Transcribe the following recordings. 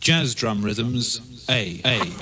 Jazz drum rhythms, A.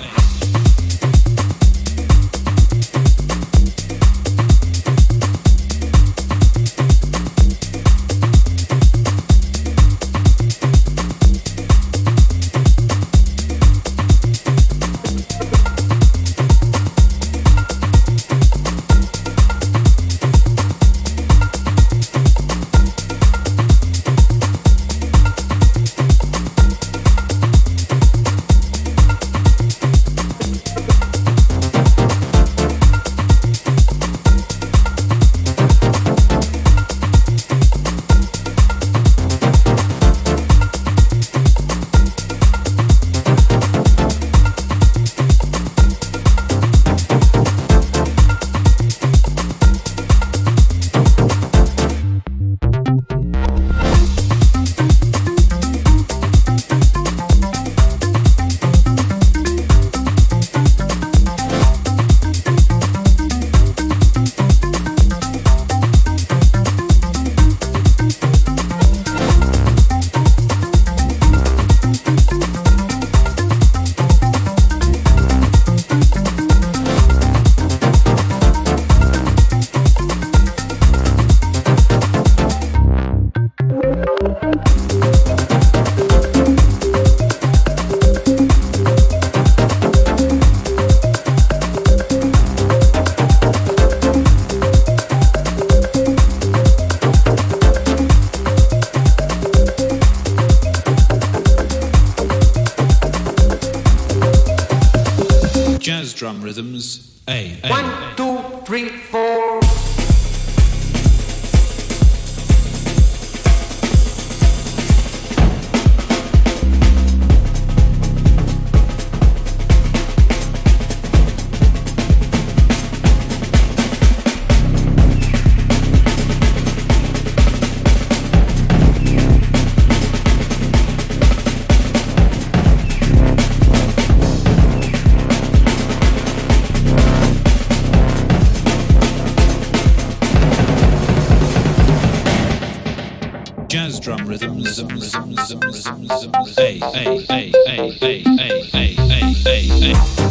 Jazz drum rhythms, A. 1, 2, 3, 4. Jazz drum rhythms, A.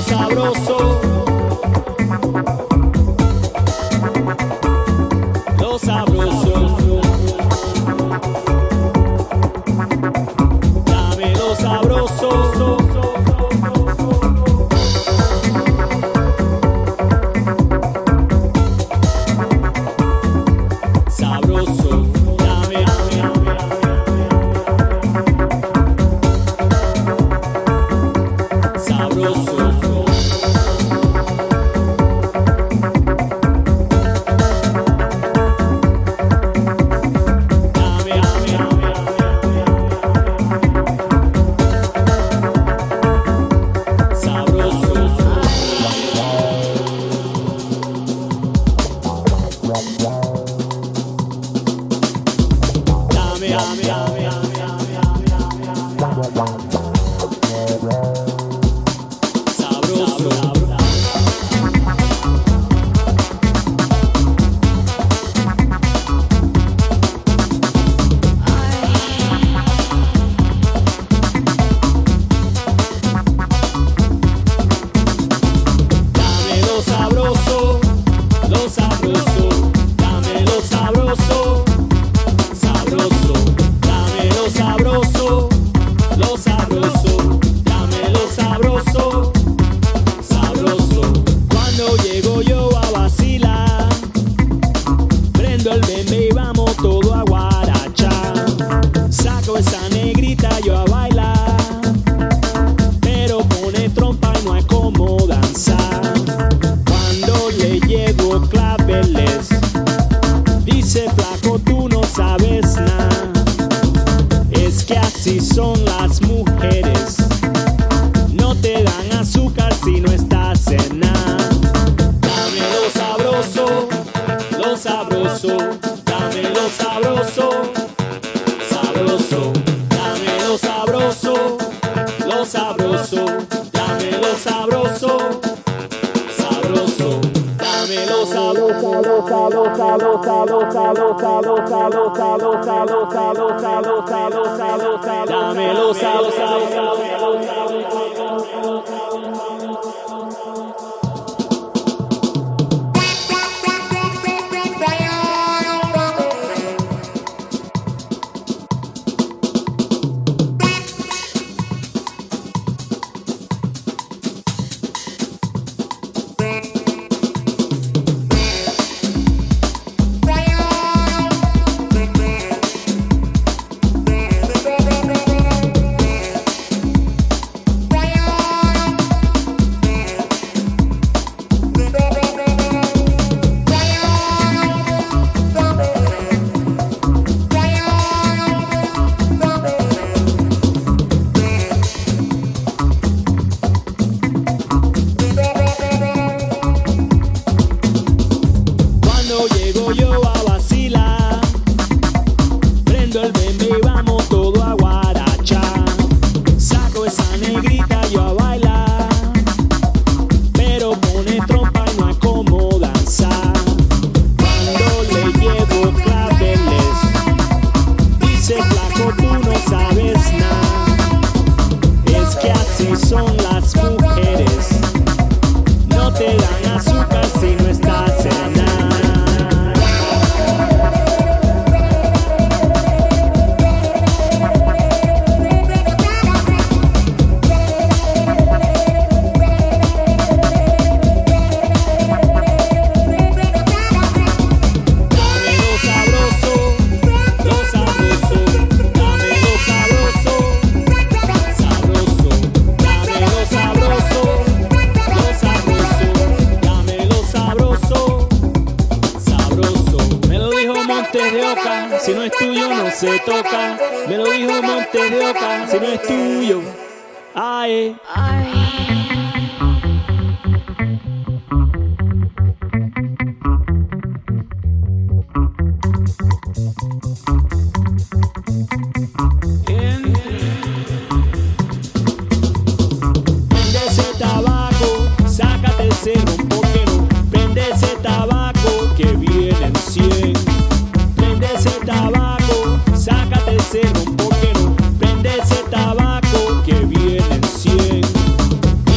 Prende ese tabaco que viene en 100.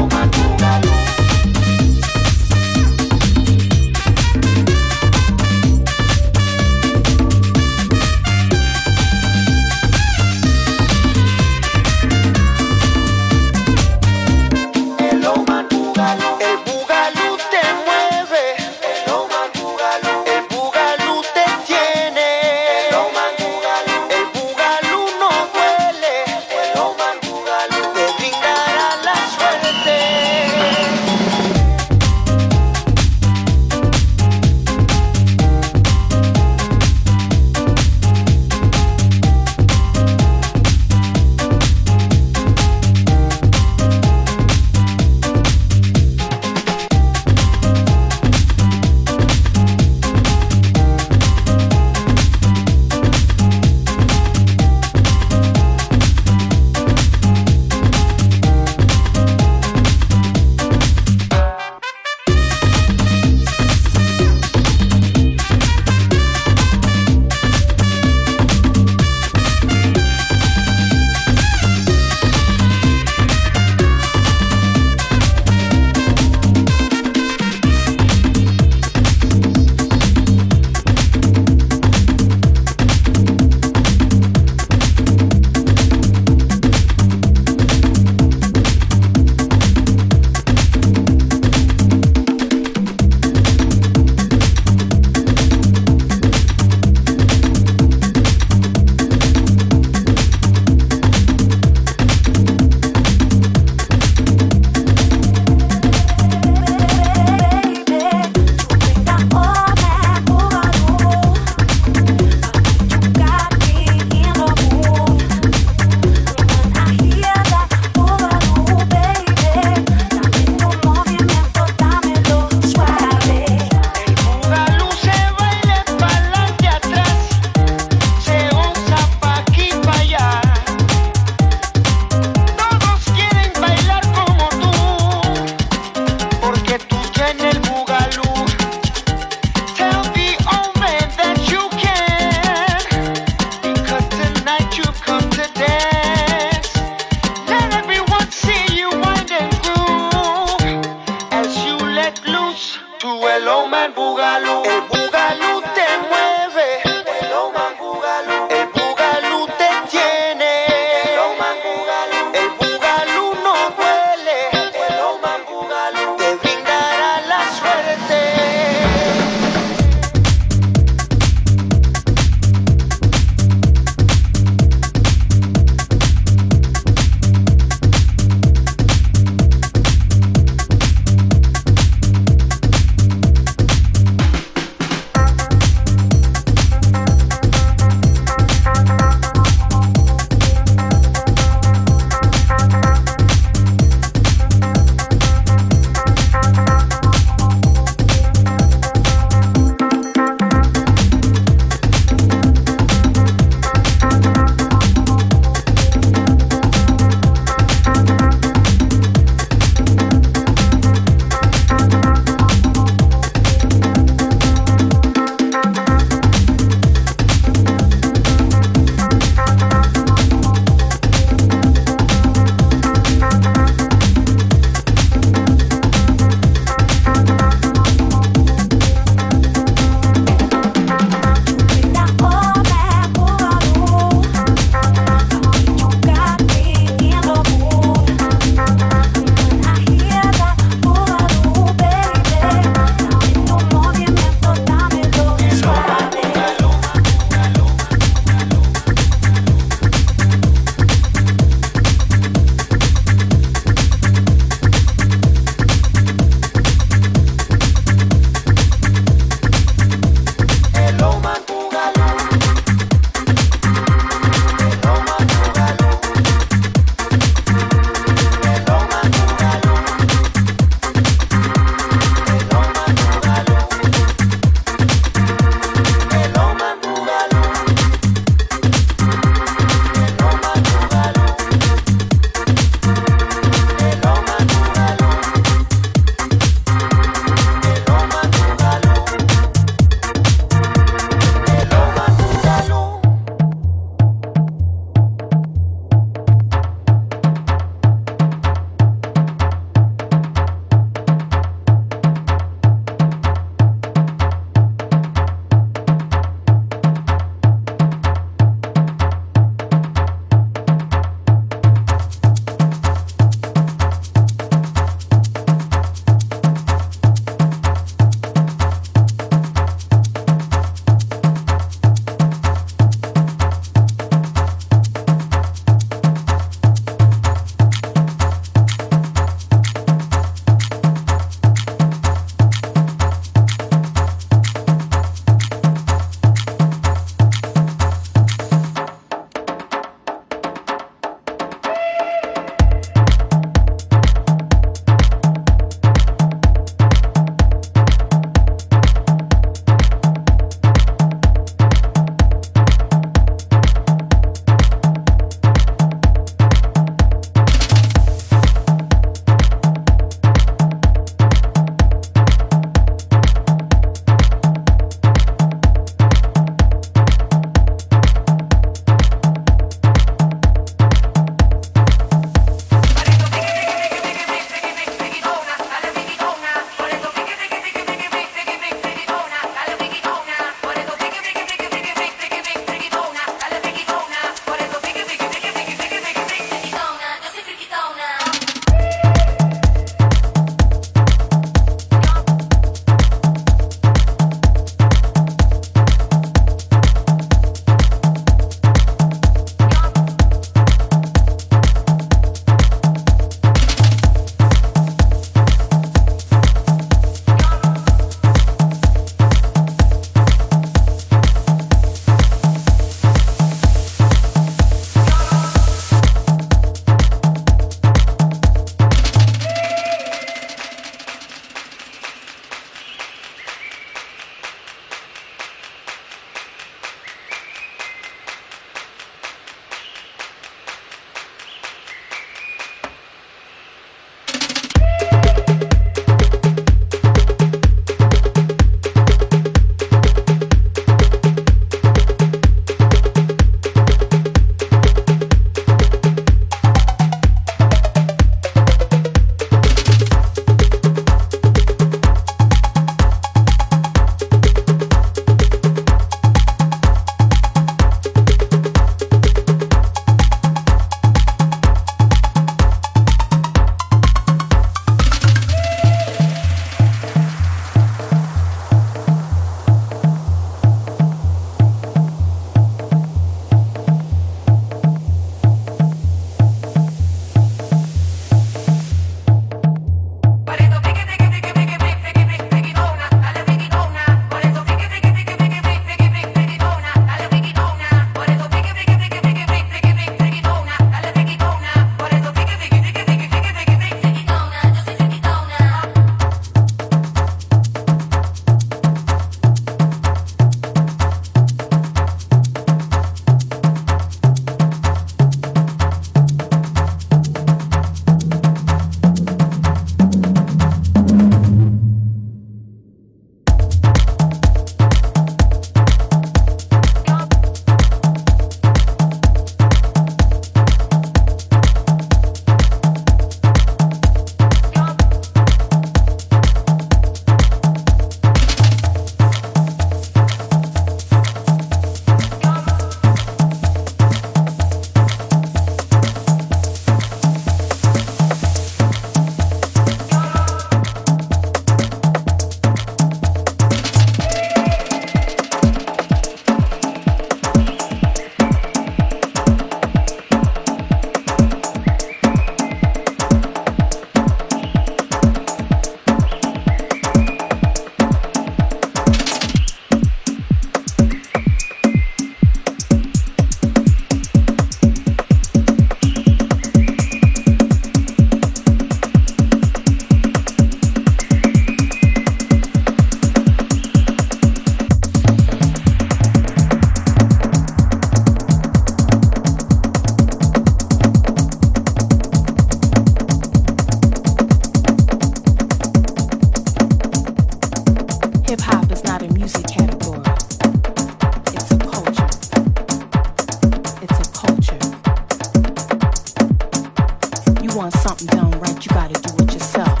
want something done right, you gotta do it yourself.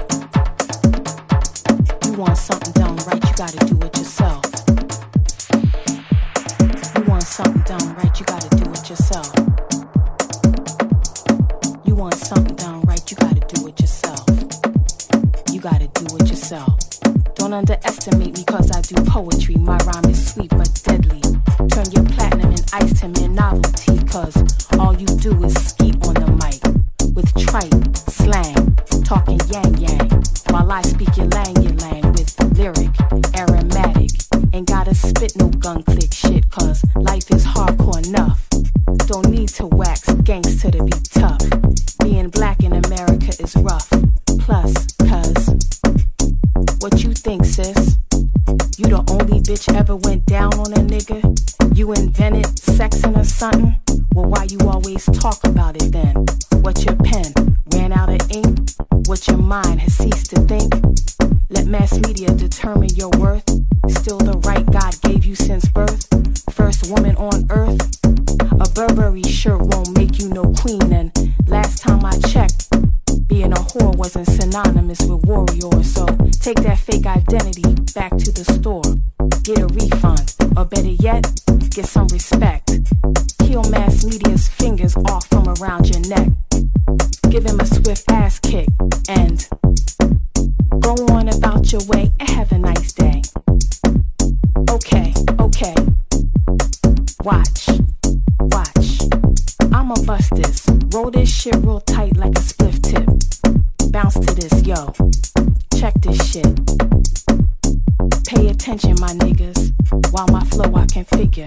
You want something done right, you gotta do it yourself. You want something done right, you gotta do it yourself. You want something done right, you gotta do it yourself. You gotta do it yourself. Don't underestimate me cause I do poetry. My rhyme is sweet but deadly. Turn your platinum and ice to mere novelty, cause all you do is skeet on the mic with trite slang, talking yang yang, while I speak your lang with lyric, aromatic. Ain't gotta spit no gun click shit, cause life is hardcore enough. Don't need to wax gangster to be tough. Being black in America is rough. Plus, cause what you think, sis? You the only bitch ever went down on a nigga? You invented sexing or something? Well, why you always talk about it then? What your pen ran out of ink? What your mind has ceased to think? Let mass media determine your worth. Still the right God gave you since birth. First woman on earth. A Burberry shirt won't make you no queen. And last time I checked, being a whore wasn't synonymous with warrior. So take that fake identity back to the store. Get a refund, or better yet, get some respect. Peel mass media's fingers off from around your neck. Give him a swift ass kick and go on about your way and have a nice day. Okay, okay. Watch, watch. I'ma bust this. Roll this shit real tight like a spliff tip. Bounce to this, yo. Check this shit. Pay attention, my niggas. While my flow I can figure.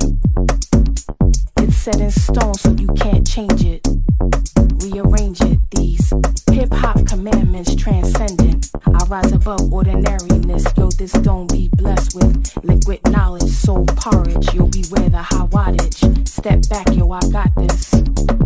It's set in stone so you can't change it. Rearrange it. These hip-hop commandments transcendent. I rise above ordinariness. Yo, this don't be blessed with liquid knowledge. Soul porridge. You'll beware the high wattage. Step back, yo, I got this.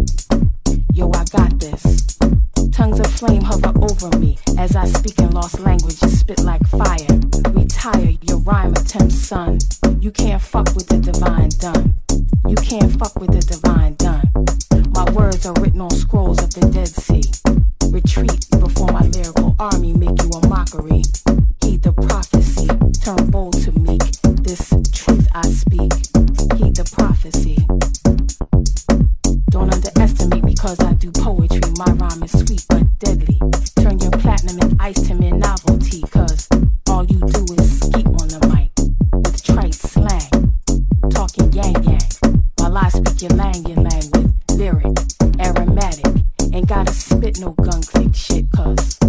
Yo, I got this. Tongues of flame hover over me as I speak in lost languages, spit like fire. Retire your rhyme attempts, son. You can't fuck with the divine done. You can't fuck with the divine done. My words are written on scrolls of the Dead Sea. Retreat before my lyrical army make you a mockery. Heed the prophecy, turn bold to meek. This truth I speak. Heed the prophecy. Don't underestimate me cause I do poetry. My rhyme is sweet but deadly. Turn your platinum and ice to mere novelty, cause all you do is skeet on the mic with trite slang, talking yang yang, while I speak your lang with lyric, aromatic. Ain't gotta spit no gun click shit, cause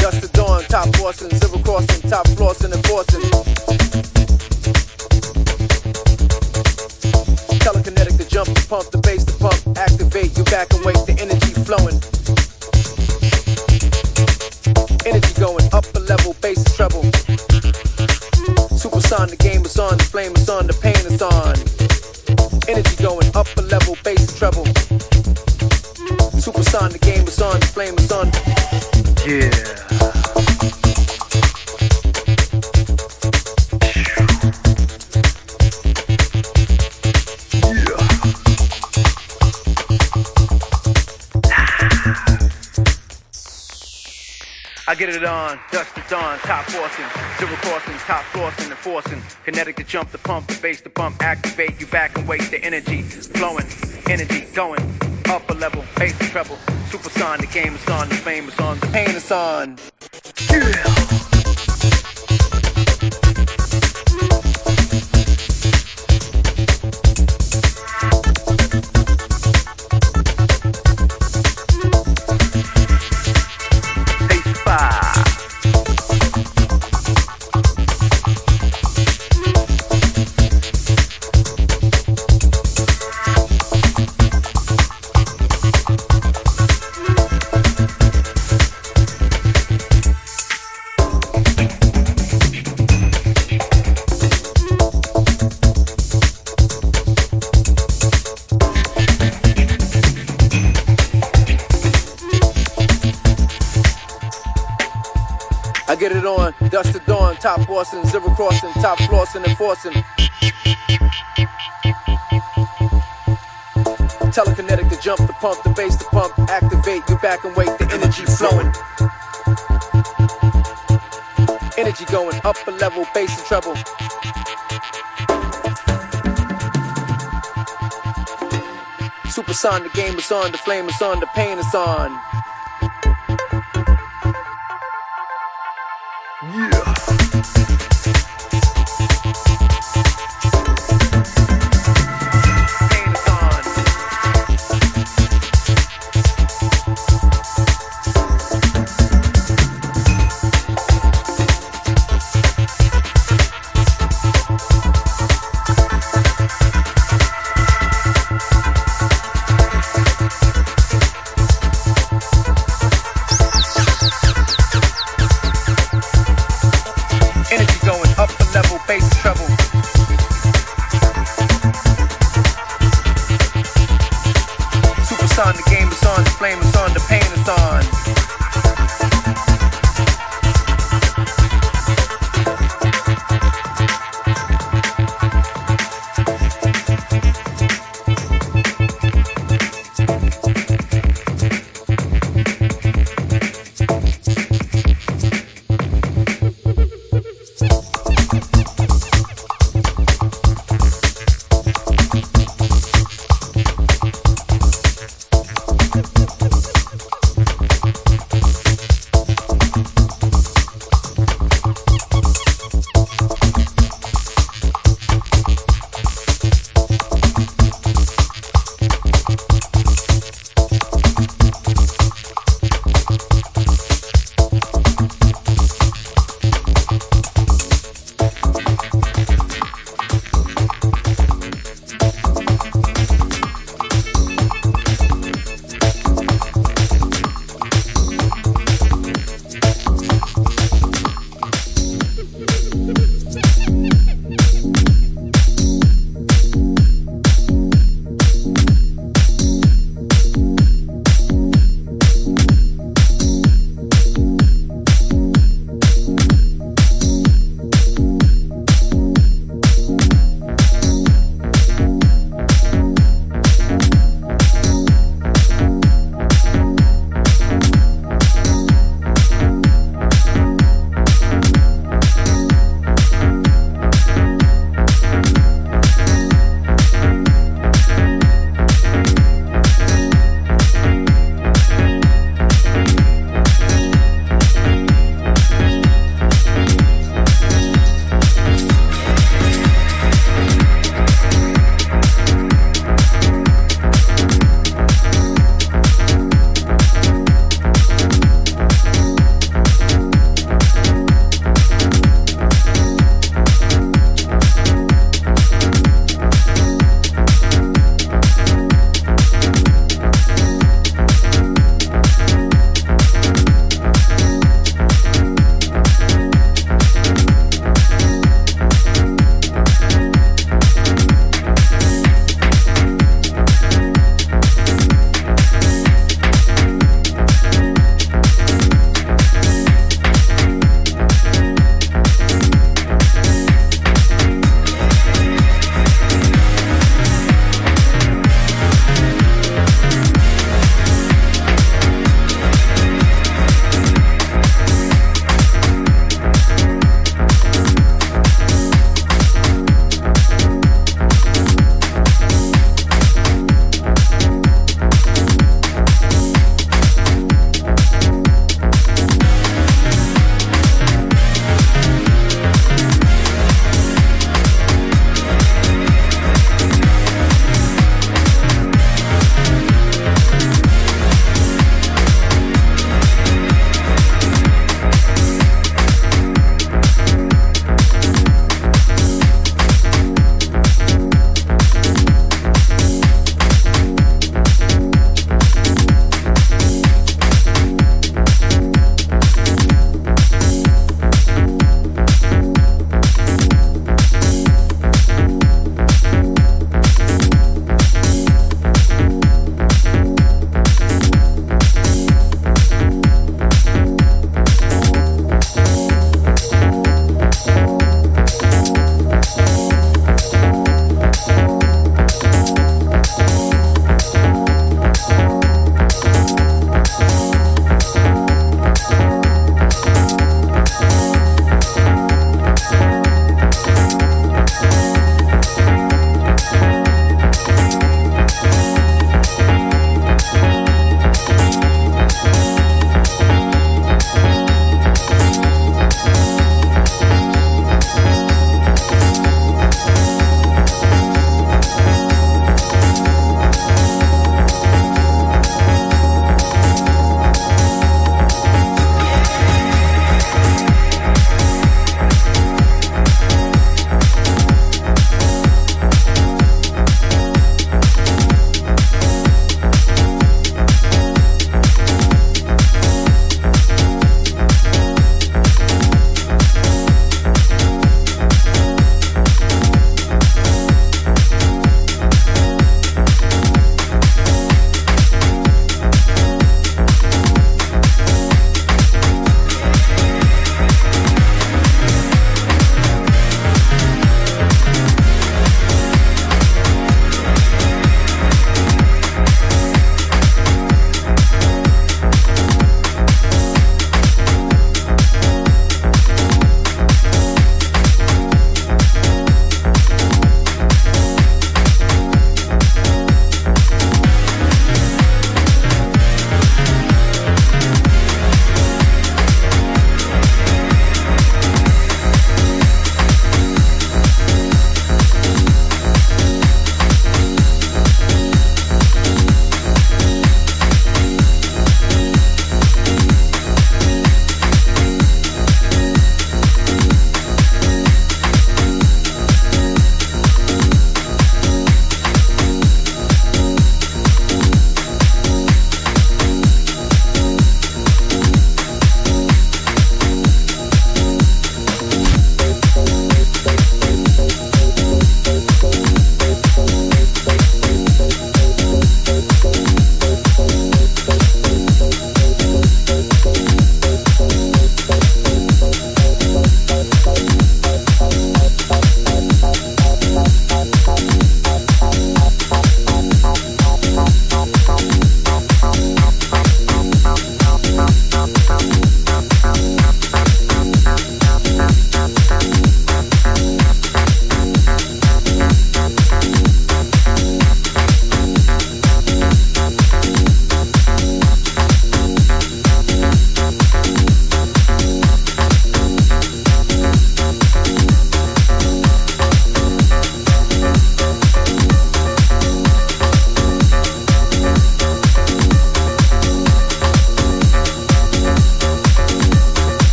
Dust to dawn, top forcing, zero crossing, top flossing and forcing. Telekinetic to jump, to pump, the bass to pump, activate, you back and wait, the energy flowing. Energy going, upper level, bass and treble. Supersonic, the game is on, the flame is on, the pain is on. Energy going, upper level, bass and treble. Supersonic, the game is on, the flame is on. Yeah. I get it on, dust to dawn, top forcing, zero crossing, top flossing and forcing. Kinetic to jump, the pump, the bass to pump, activate, you back and wait, the energy flowing, energy going, upper level, bass and treble. Supersonic, the game is on, the flame is on, the pain is on. Yeah. Get it on, dust to dawn, top forcing, zero crossing, top flossing and forcing. Telekinetic to jump, the pump, the bass to pump, activate, you back and wait, the energy flowing. Energy going, upper level, bass and treble. Supersonic, the game is on, the flame is on, the pain is on.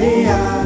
Maria.